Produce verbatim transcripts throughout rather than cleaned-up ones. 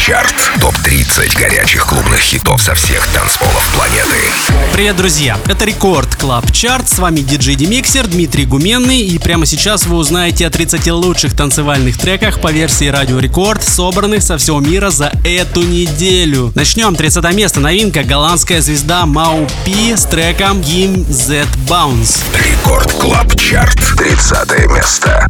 Чарт. топ тридцать горячих клубных хитов со всех танцполов планеты. Привет, друзья! Это Рекорд Клаб Чарт. С вами диджей Демиксер Дмитрий Гуменный. И прямо сейчас вы узнаете о тридцати лучших танцевальных треках по версии Радио Рекорд, собранных со всего мира за эту неделю. Начнем. тридцатое место. Новинка. Голландская звезда Мау Пи с треком Gimme That Bounce. Рекорд Клаб Чарт. тридцатое место.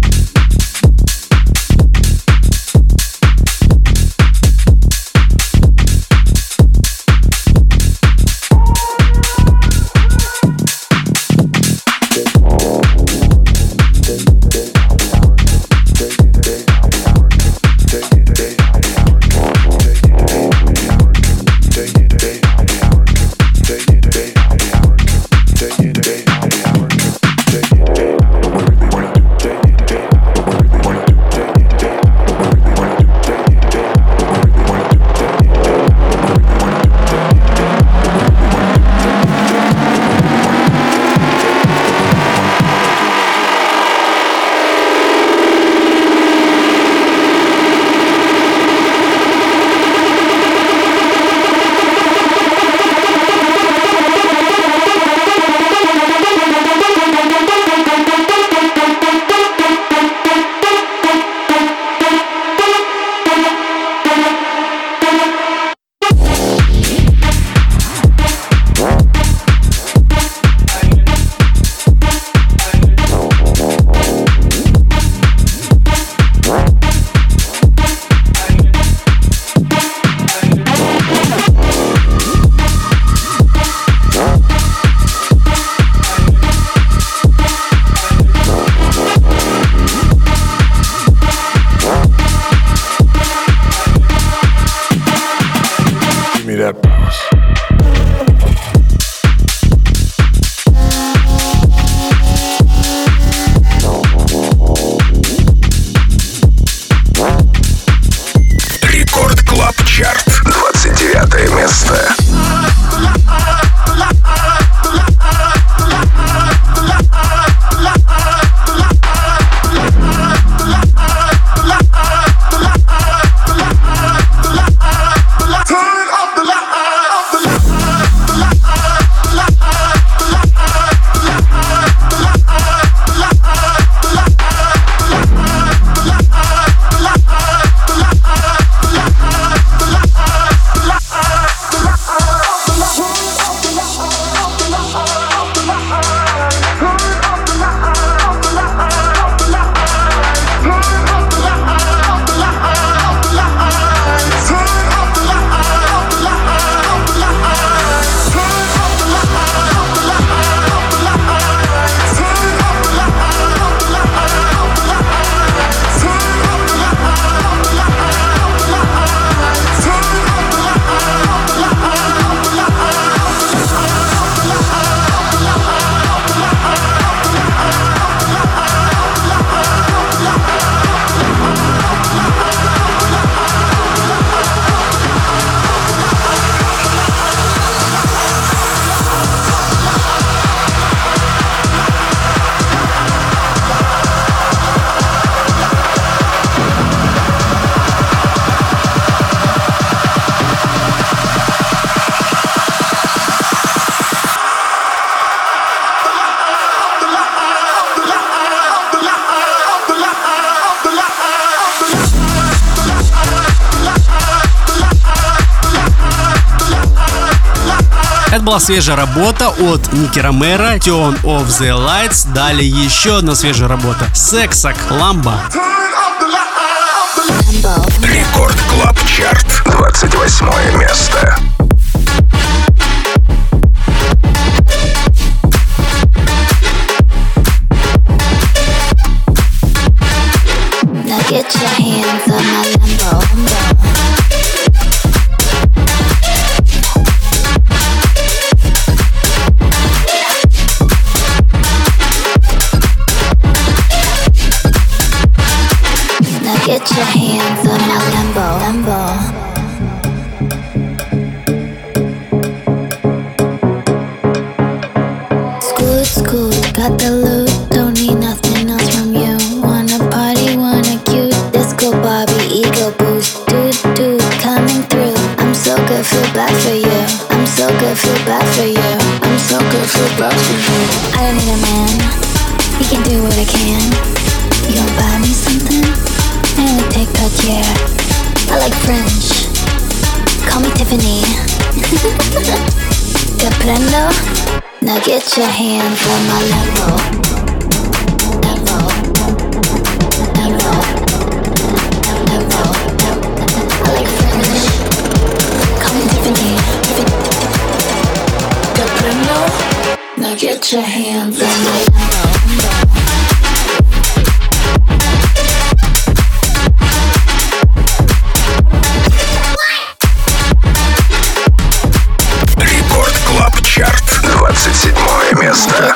Это была свежая работа от Ники Ромеро, Turn Off the Lights. Далее еще одна свежая работа. Сексак, Ламба. Рекорд Клаб Чарт. двадцать восьмое место. Get your hands on my Lambo. Now get your hands on my Lambo. Lambo. School, school, got the loot, don't need nothing else from you. Wanna party, wanna cute, disco Barbie, ego boost, dude, dude. I feel bad for you. I'm so good, feel bad for you. I don't need a man, he can do what I can. You don't buy me something? I only take Cartier. I like French, call me Tiffany. Te prendo? Now get your hands on my level. Level. Level. Level. I like French, call me Tiffany. Te prendo? Now get your hands on my level. двадцать седьмое место.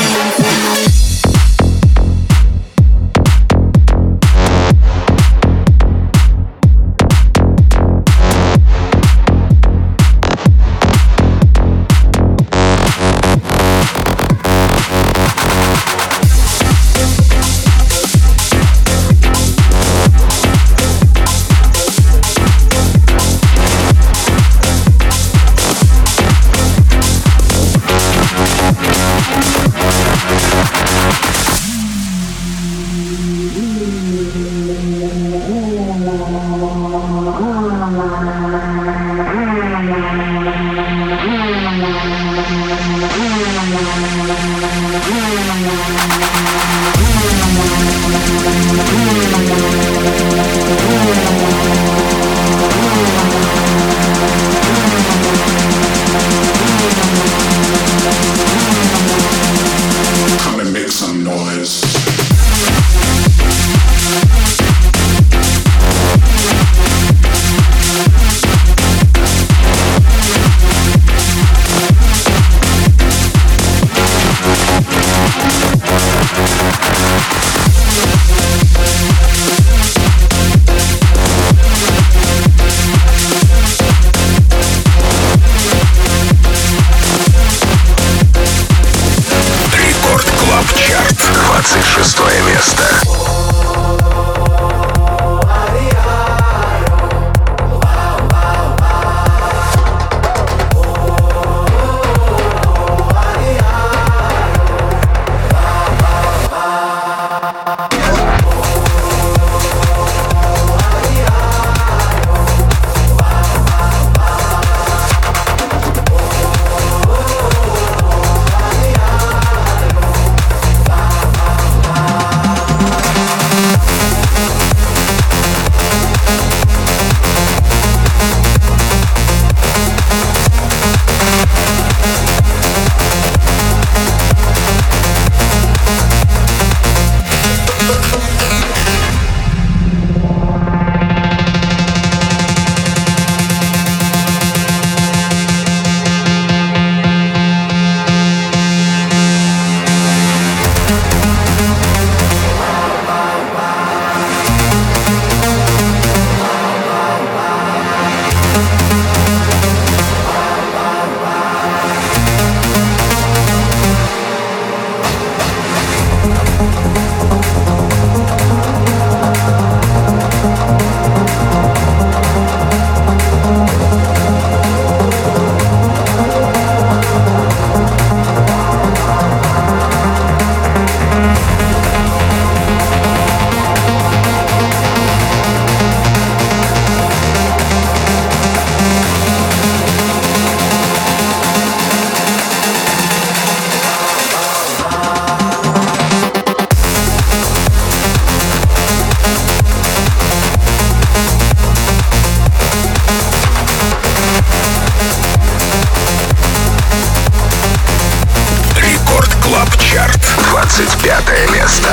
двадцать пятое место.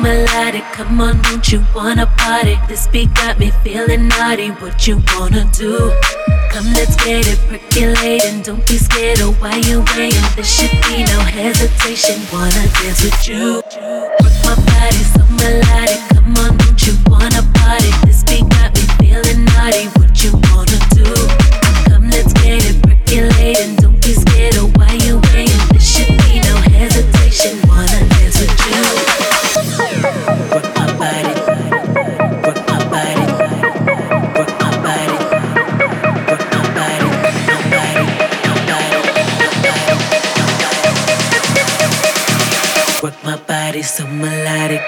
melodic. Come on, don't you wanna party? This beat got me feeling naughty. What you wanna do? Come, let's get it percolating. Don't be scared of why you waiting. There should be no hesitation. Wanna dance with you? Work my body so melodic. Come on, don't you wanna party? This beat got me feeling naughty. What you wanna do? Come, let's get it percolating. Don't be scared of why you waiting. There should be no hesitation. Wanna dance with you? Work my body, work my body, work my body, work my body, my body, my body, work my body so melodic.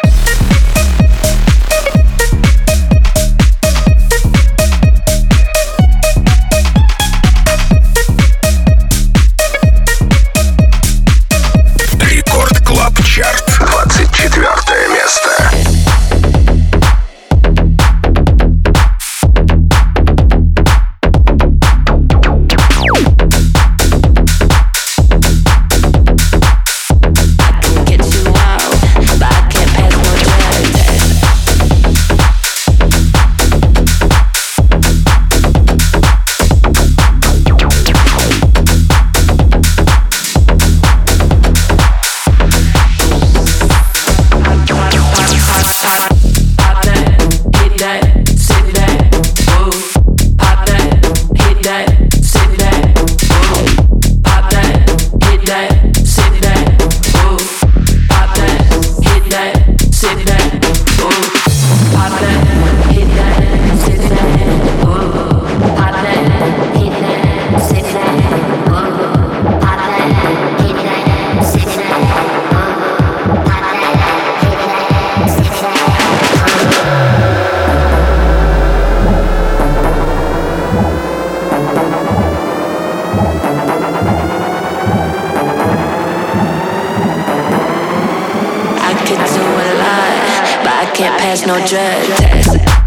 Чарт, двадцать четвёртое место. I could do a lot, but I can't pass no drug test.